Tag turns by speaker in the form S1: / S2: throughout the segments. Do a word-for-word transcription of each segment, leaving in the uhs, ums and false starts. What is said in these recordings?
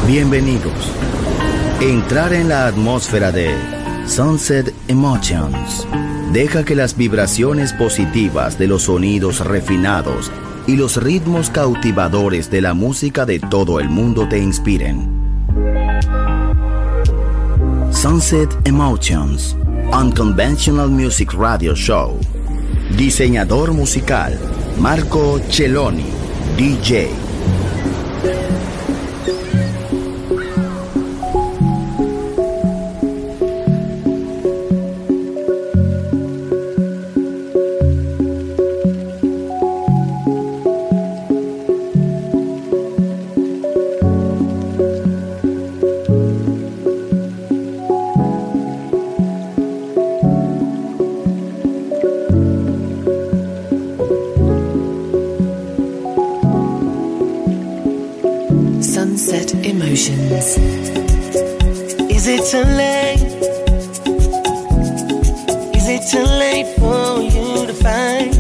S1: Bienvenidos. Entrar en la atmósfera de Sunset Emotions. Deja que las vibraciones positivas de los sonidos refinados y los ritmos cautivadores de la música de todo el mundo te inspiren. Sunset Emotions, Unconventional Music Radio Show. Diseñador musical, Marco Celloni, D J.
S2: Is it too late? Is it too late for you to find?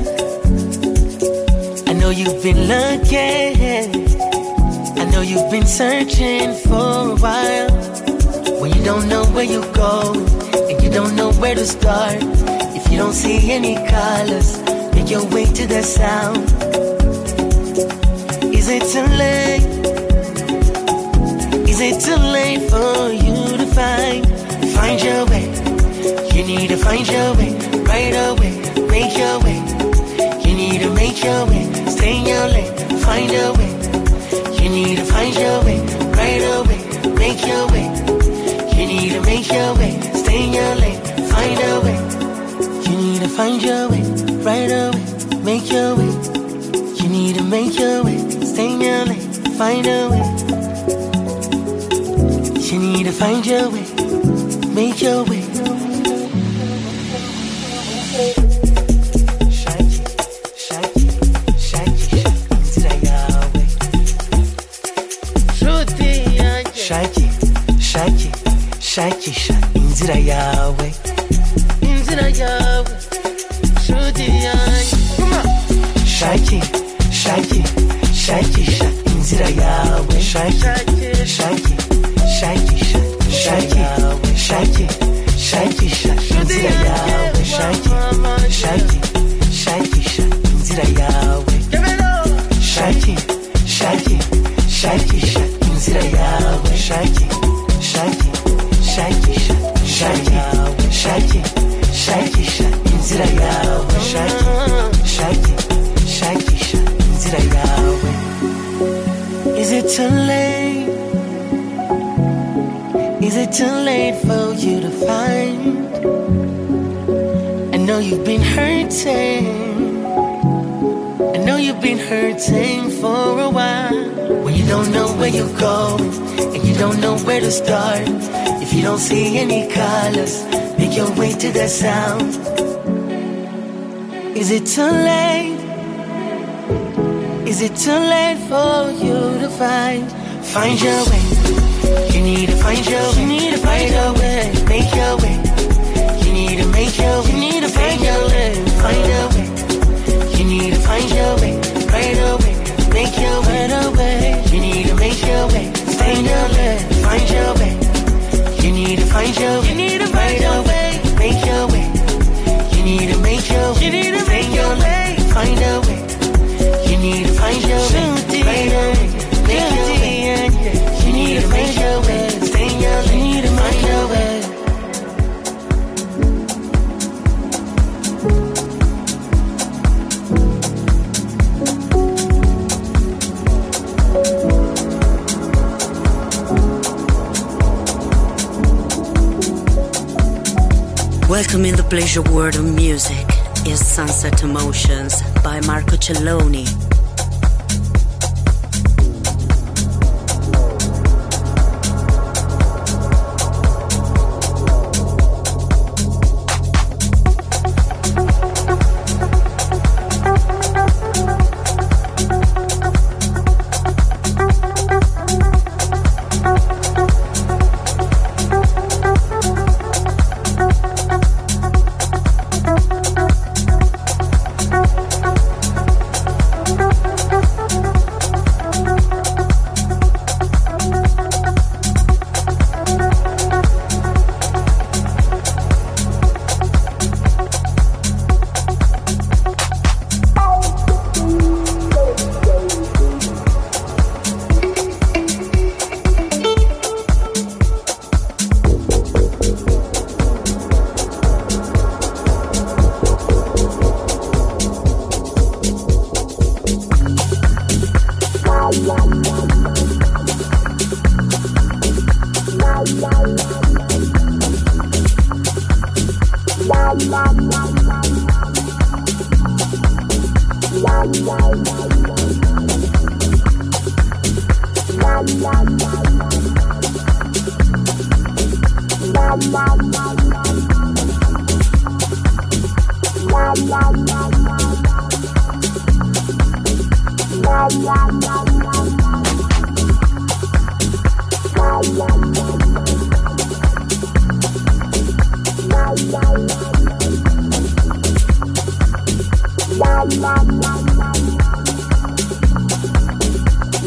S2: I know you've been looking, I know you've been searching for a while. When you don't know where you go, and you don't know where to start. If you don't see any colors, make your way to the sound. Is it too late? Is it too late for you to find, find your way? You need to find your way, right away, make your way. You need to make your way, stay in your lane, find your way. You need to find your way, right away, make your way. You need to make your way, stay in your lane, find a way. You need to find your way, right away, make your way. You need to make your way, stay in your lane, find a way. You need to find your way, make your way. Shake it, shake it, shake it, inzira yawe. Shake it, shake it, shake it, inzira yawe. Inzira yawe, shuti yanjye. Shake it, shake it, shake it, inzira yawe. Shake it, shake it. Shake it, shake it, shake it, shake it, inzira yawe. Shake it, shake it, shake it, inzira yawe. Shake it, shake it, shake it, inzira yawe. Shake it, shake it, shake it, shake it, shake it, shake it, inzira yawe. Shake it, shake it, shake it, inzira yawe. Is it too late? Is it too late for you to find? I know you've been hurting, I know you've been hurting for a while. When you don't know where you're going, and you don't know where to start. If you don't see any colors, make your way to the sound. Is it too late? Is it too late for you to find? Find your way. You need to find your way, you need to find your way, make your way. You need to make your way, you need to find your way, find your way. You need to find your way, right away, make your way, right away. You need to make your way, stay in your lane, find your way. You need to find your way, you need to find your way, make your way. You need to make your way, you need to make your way, find a way. You need to find your way, right away, make your way. You need to make your way, stay in your lane, you need to find your way.
S3: Welcome in the pleasure world of music is Sunset Emotions by Marco Celloni.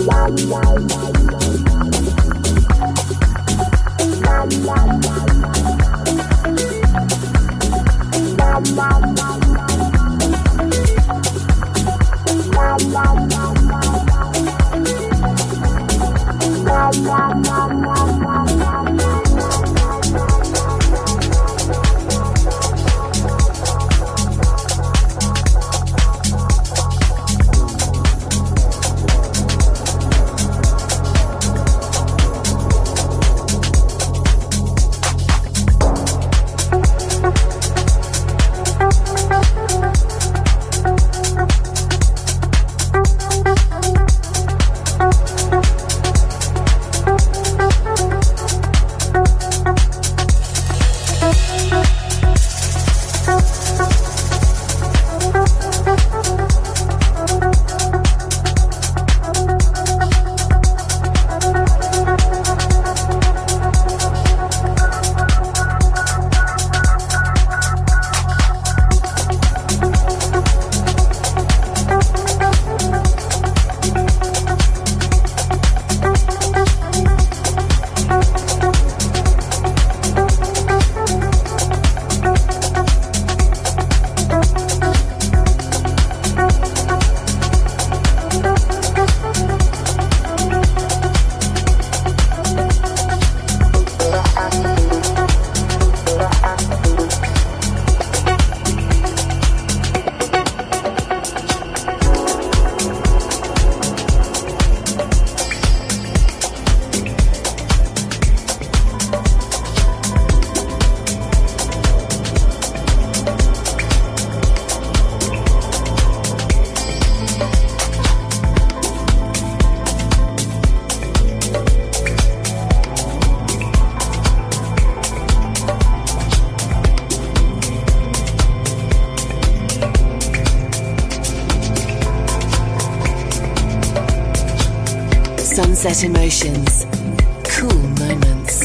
S4: Sunset Emotions. Cool moments.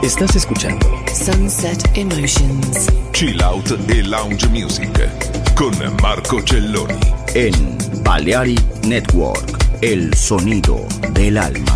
S5: Estás escuchando
S4: Sunset Emotions.
S6: Chill Out e Lounge Music con Marco Celloni.
S1: En Balearic Network, el sonido del alma.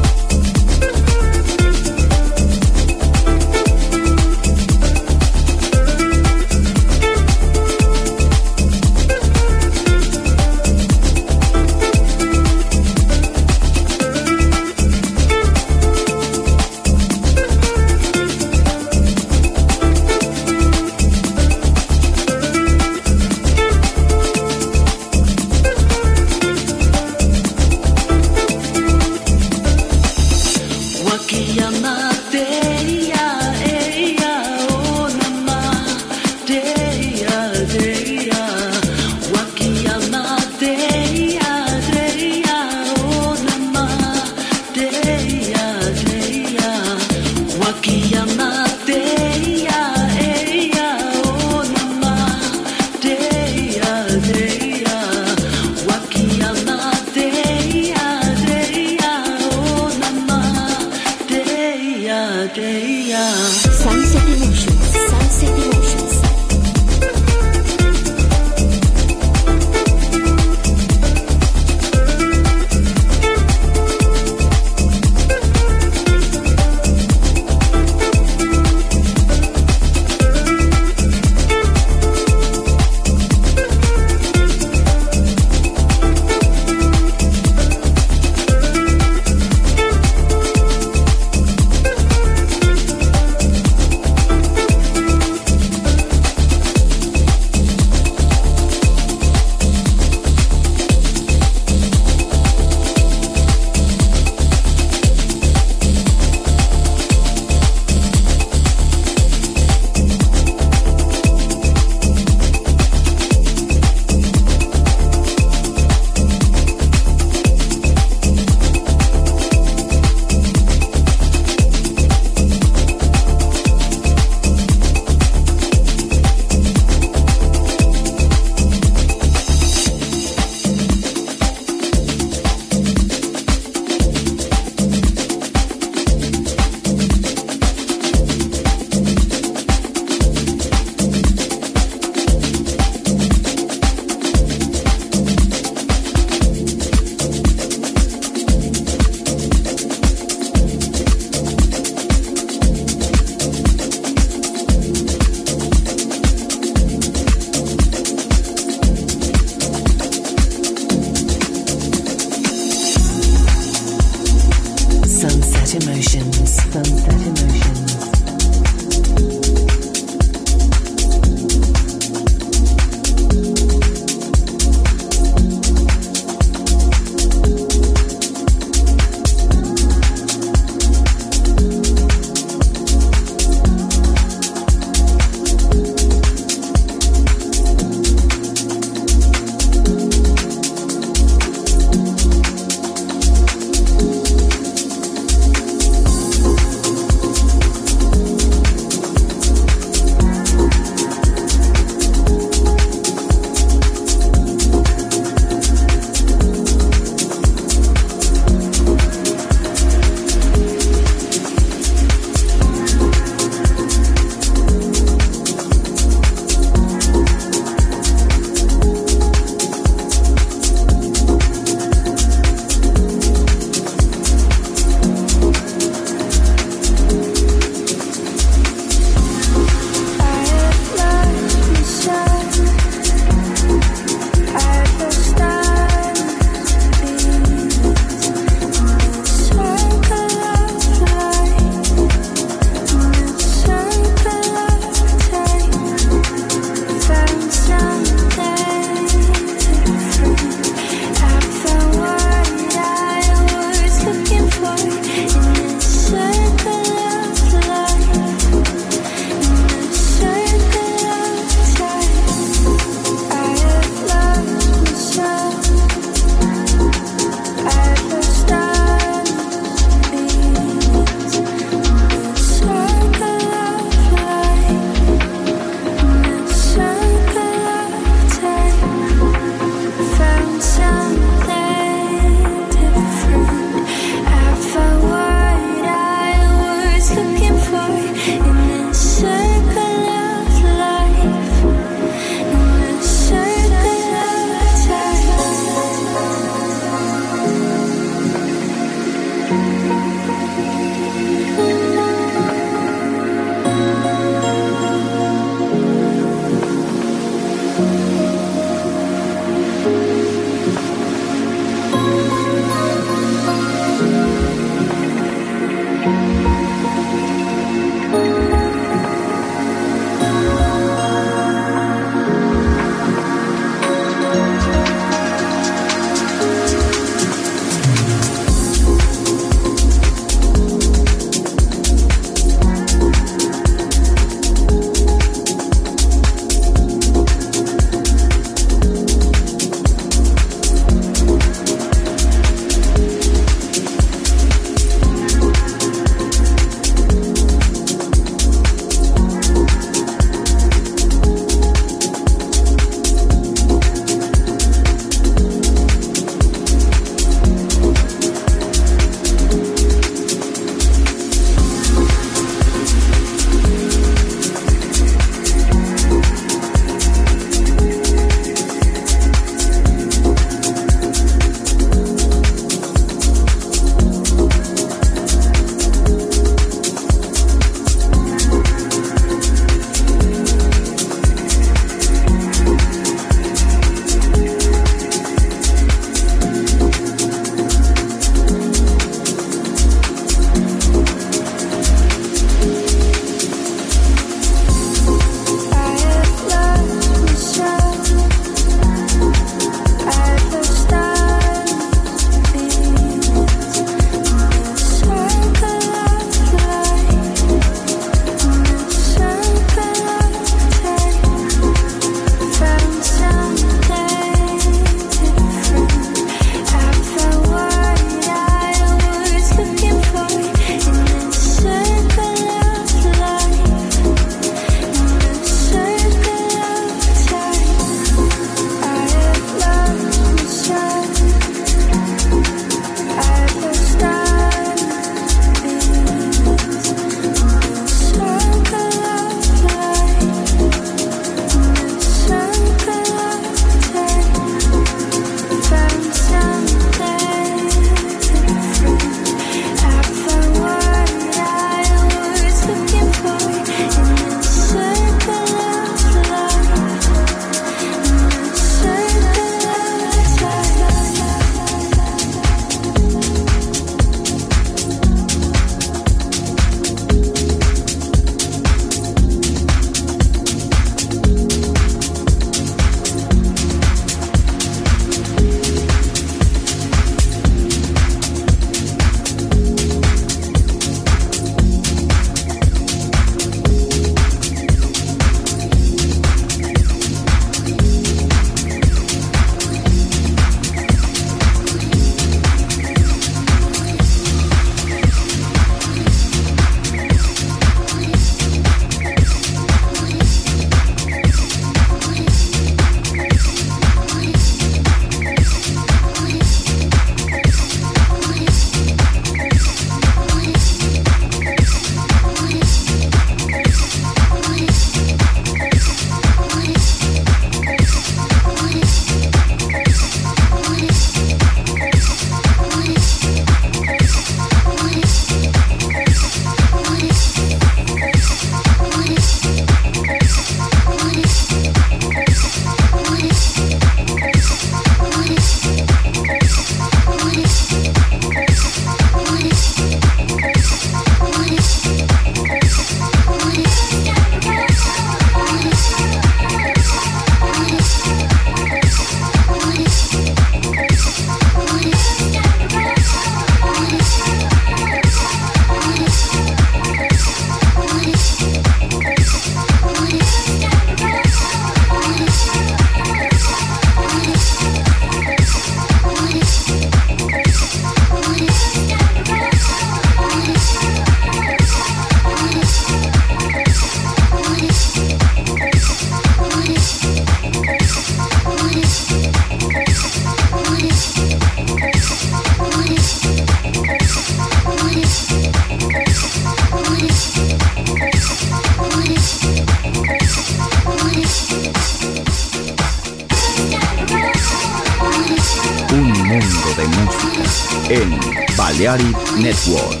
S1: en Balearic Network.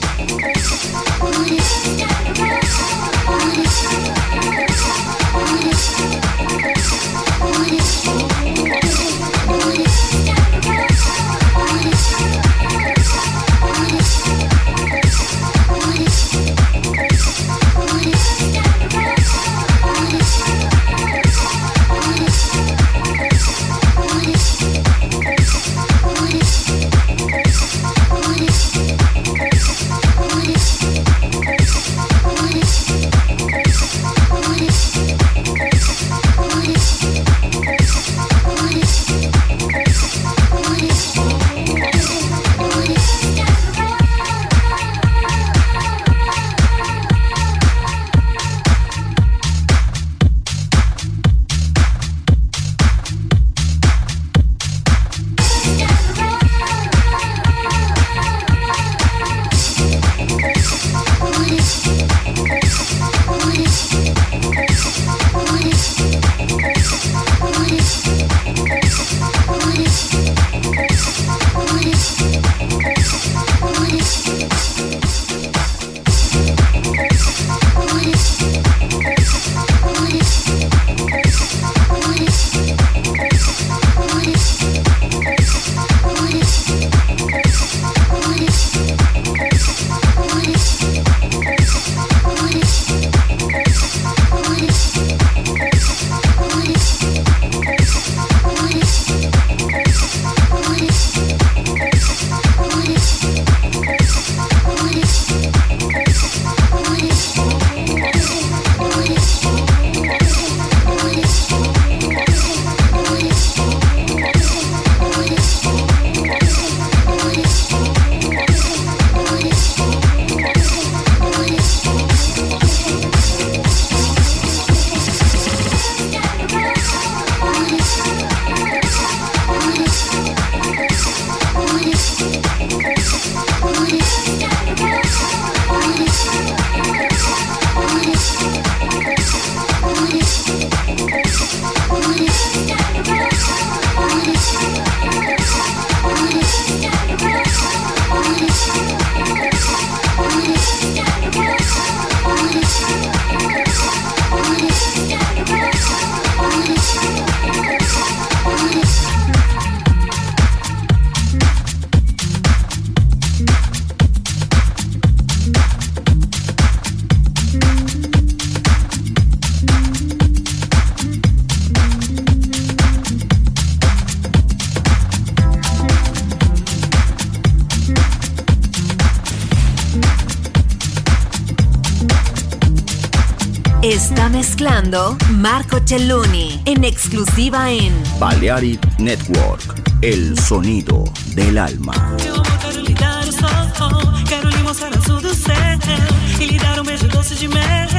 S5: Está mezclando Marco Celloni en exclusiva en
S1: Balearic Network, el sonido del alma.
S7: Eu quero lhe dar o sol, quero lhe mostrar azul do céu e lhe dar um beijo doce de mel.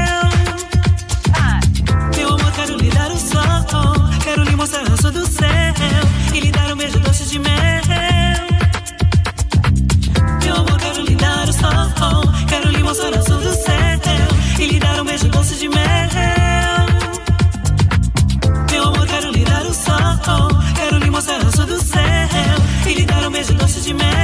S7: Meu amor, quero lhe dar o sol, quero lhe mostrar azul do céu e lhe dar um beijo doce de mel. Meu amor, quero lhe dar o sol, quero lhe mostrar azul do céu e lhe dar um beijo doce de mel. Meu amor, quero lhe dar o sol, quero lhe mostrar azul do céu e lhe dar um beijo doce de mel.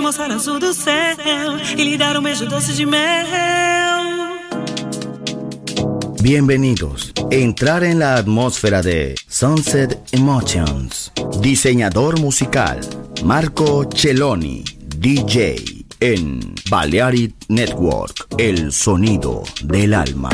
S7: mostrar o azul do céu e lhe dar um beijo doce de mel.
S1: Bienvenidos. Entrar en la atmósfera de Sunset Emotions. Diseñador musical Marco Celloni, D J en Balearic Network, el sonido del alma.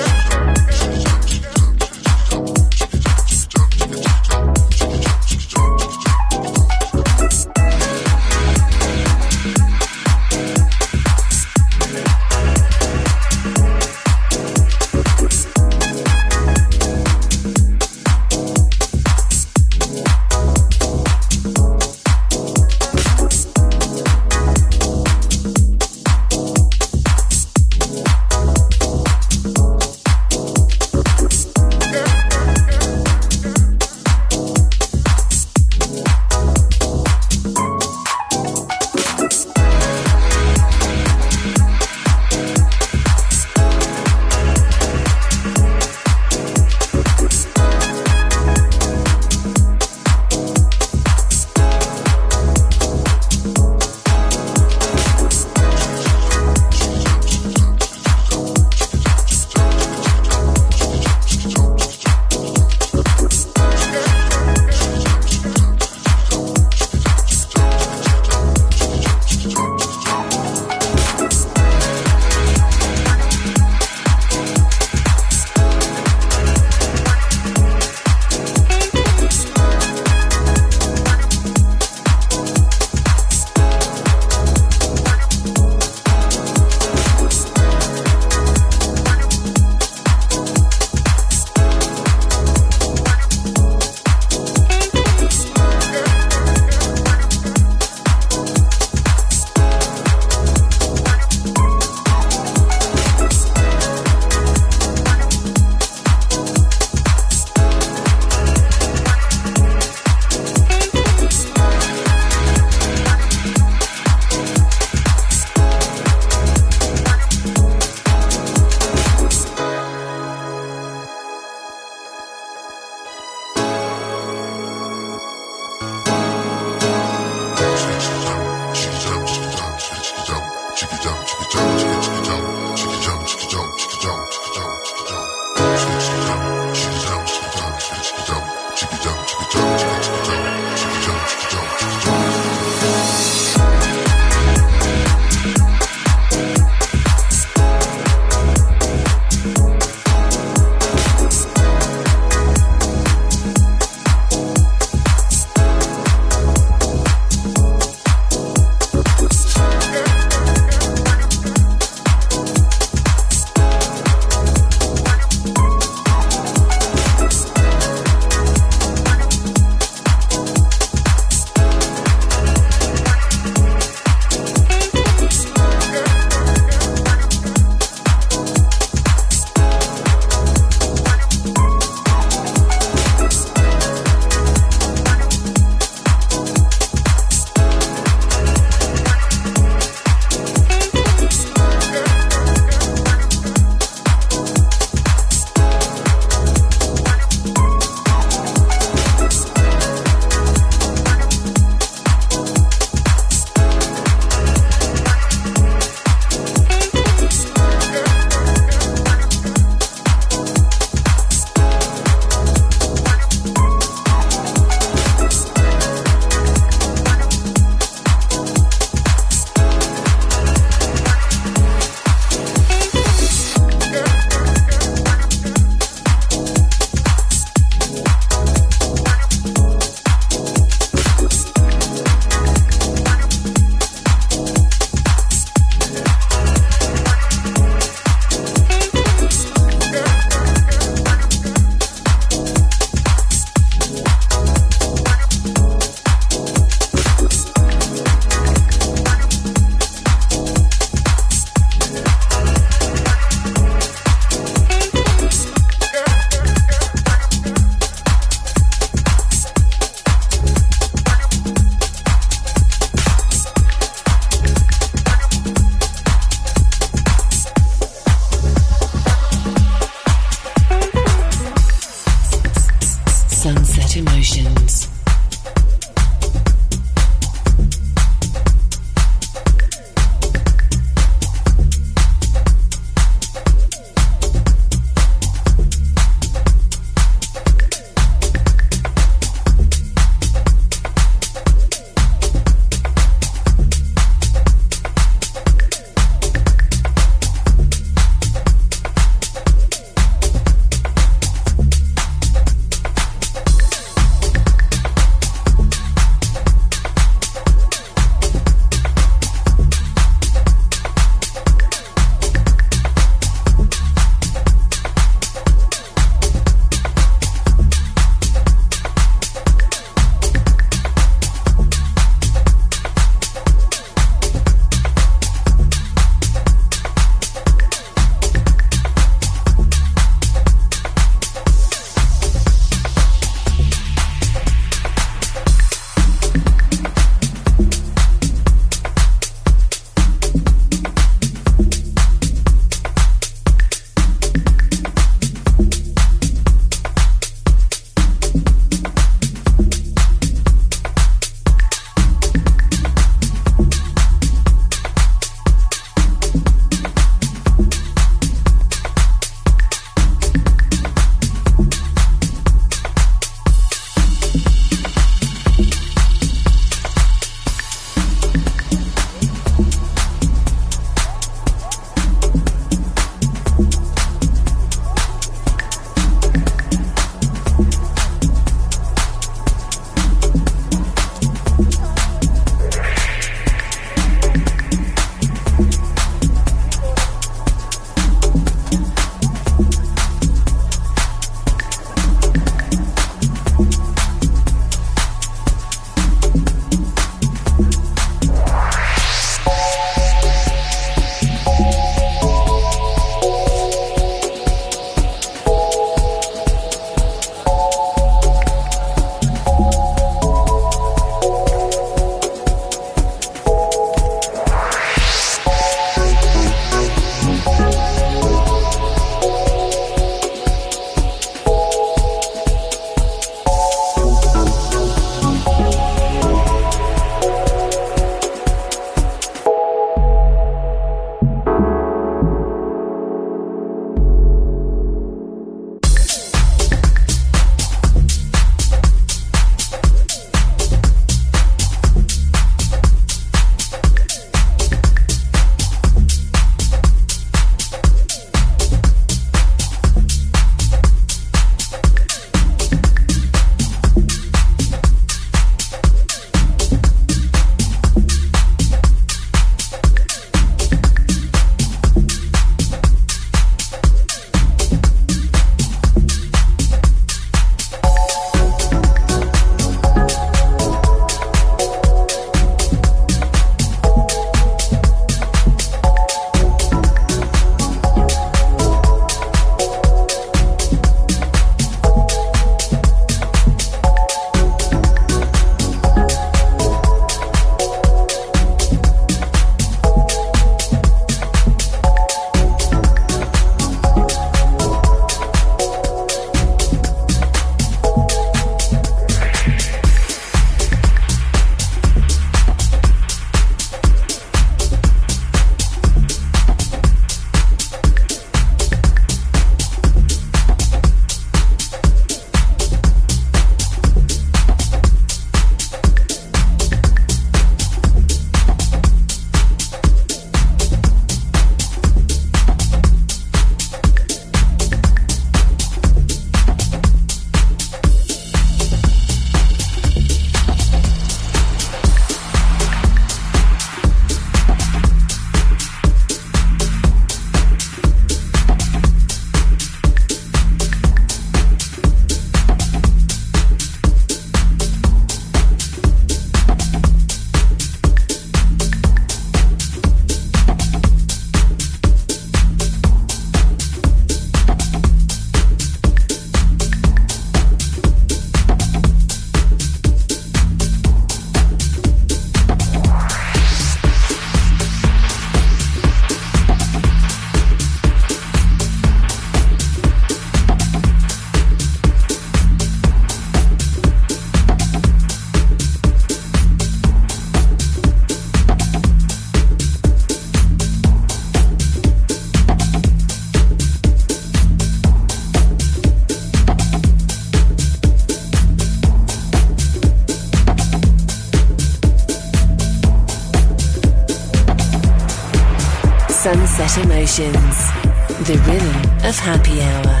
S4: Sunset Emotions, the rhythm of happy hour.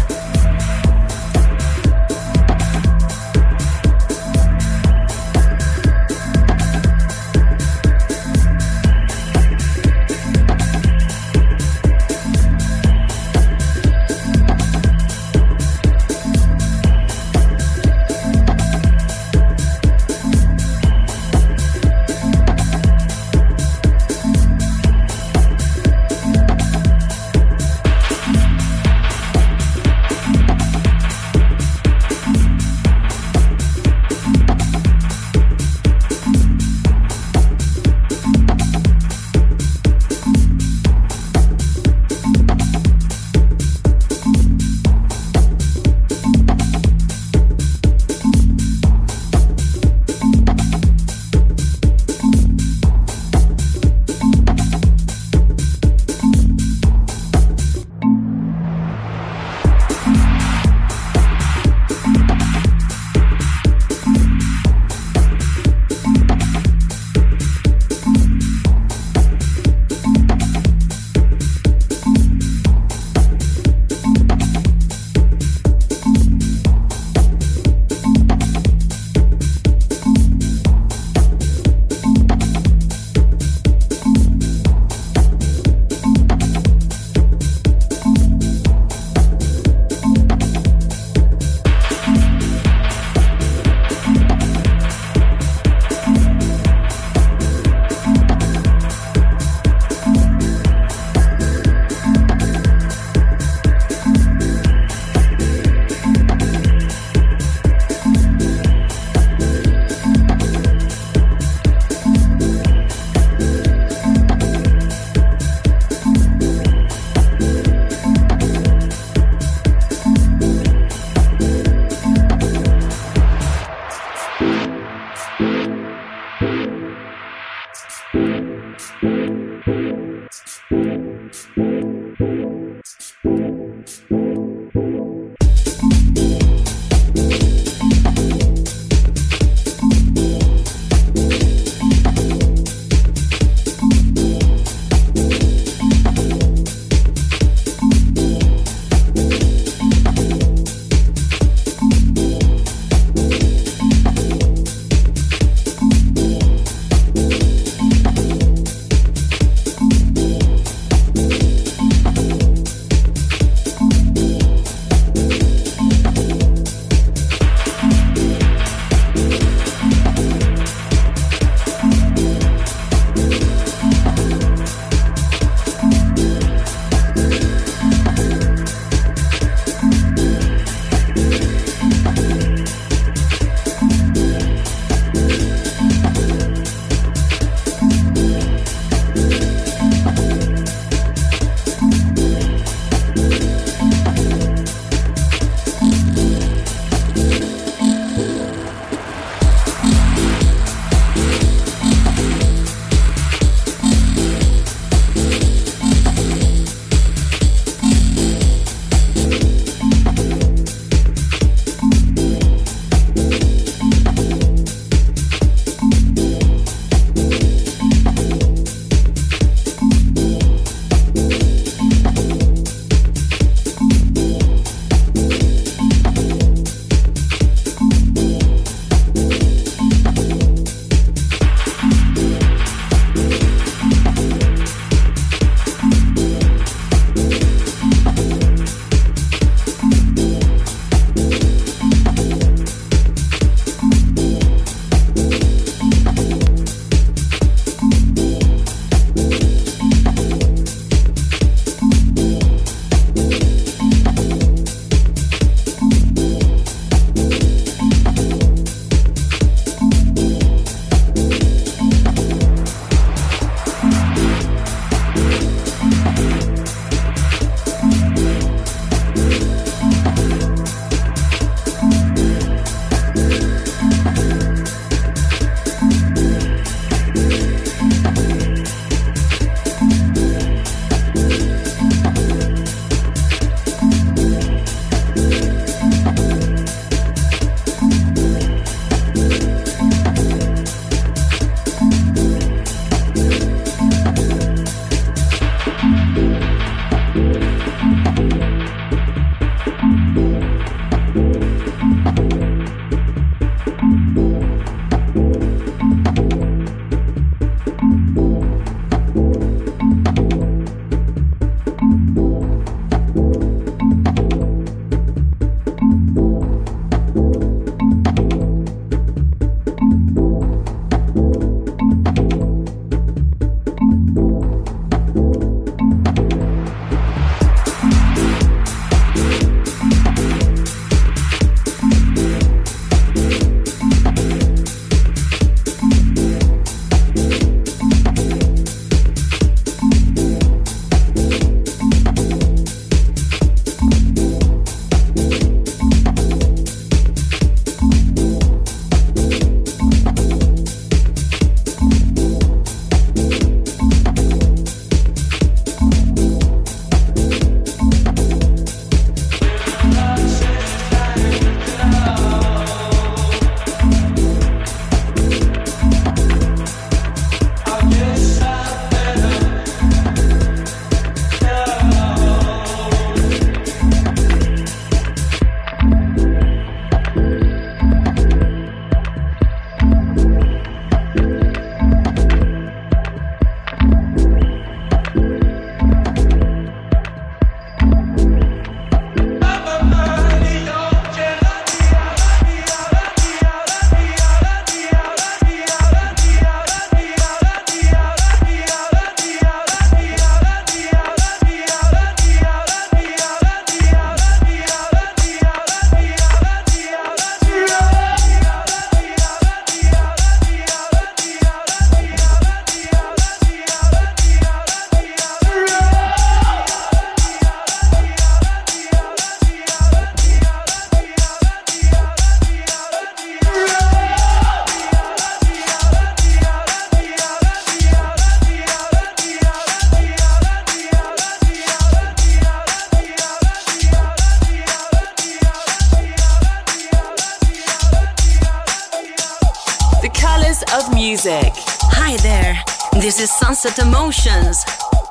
S2: music.
S3: Hi there, this is Sunset Emotions.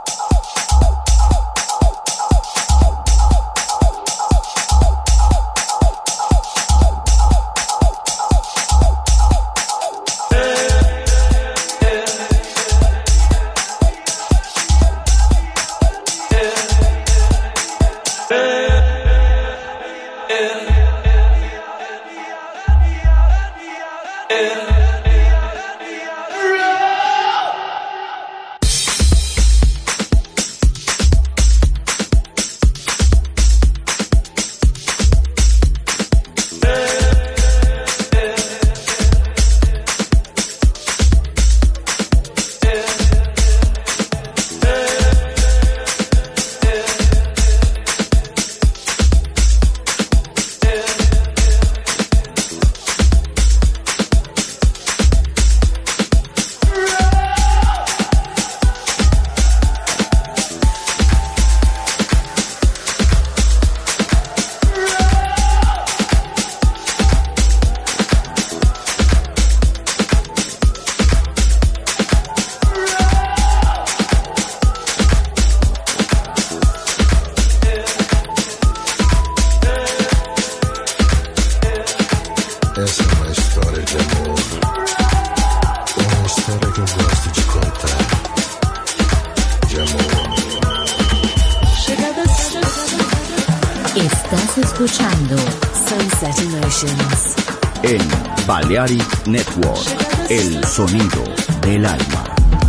S1: En Balearic Network, el sonido del alma.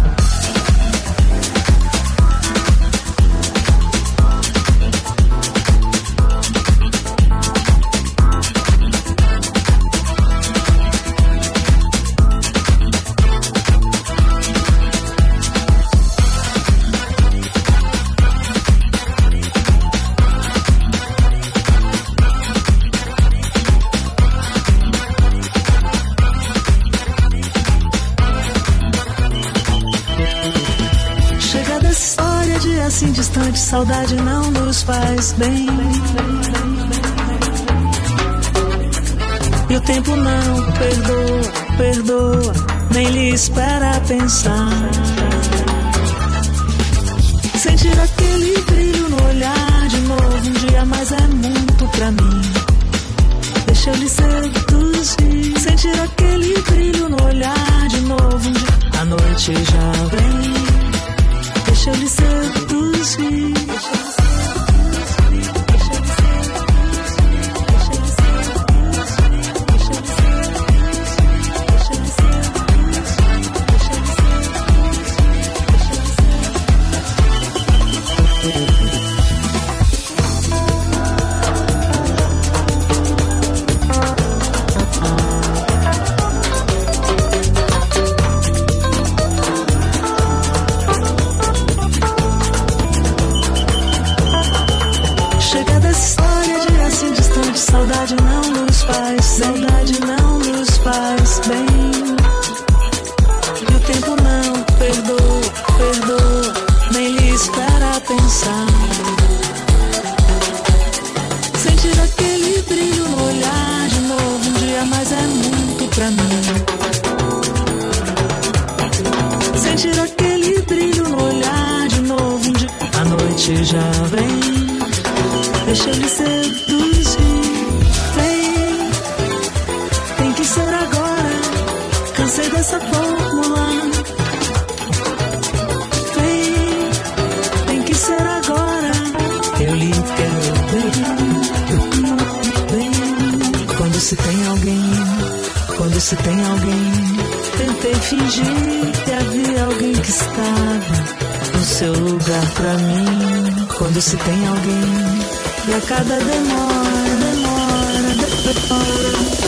S7: Assim distante, saudade não nos faz bem. E o tempo não perdoa, perdoa, nem lhe espera pensar. Sentir aquele brilho no olhar de novo, um dia mais é muito pra mim. Deixa eu lhe seduzir. Sentir aquele brilho no olhar de novo, um dia, a noite já vem. Deixa eu lhe seduzir. Saudade não nos faz, saudade não nos faz bem. E o tempo não perdoa, perdoa, nem lhe espera pensar. Sentir aquele brilho no olhar de novo, um dia mais é muito pra mim. Sentir aquele brilho no olhar de novo, um dia, a noite já vem. Deixa eu lhe seduzir. Ser agora, cansei dessa fórmula. Vem, tem que ser agora. Eu lhe quero bem, bem. Quando se tem alguém, quando se tem alguém, tentei fingir que havia alguém que estava no seu lugar pra mim. Quando se tem alguém, e a cada demora, demora, demora.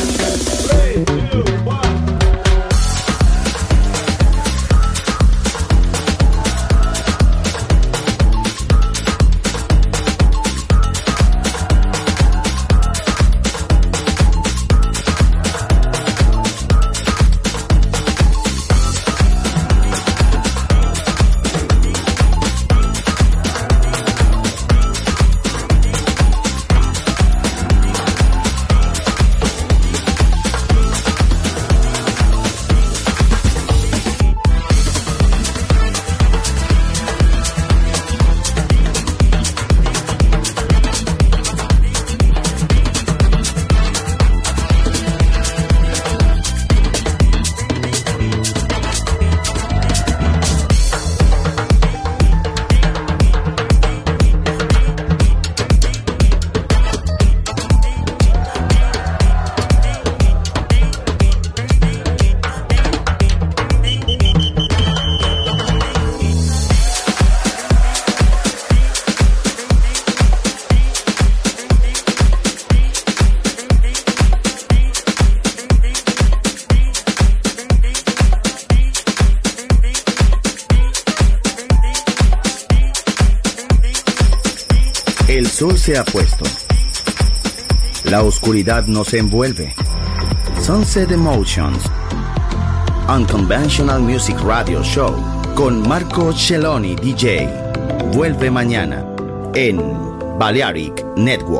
S1: El sol se ha puesto. La oscuridad nos envuelve. Sunset Emotions, Unconventional Music Radio Show con Marco Celloni D J. Vuelve mañana en Balearic Network.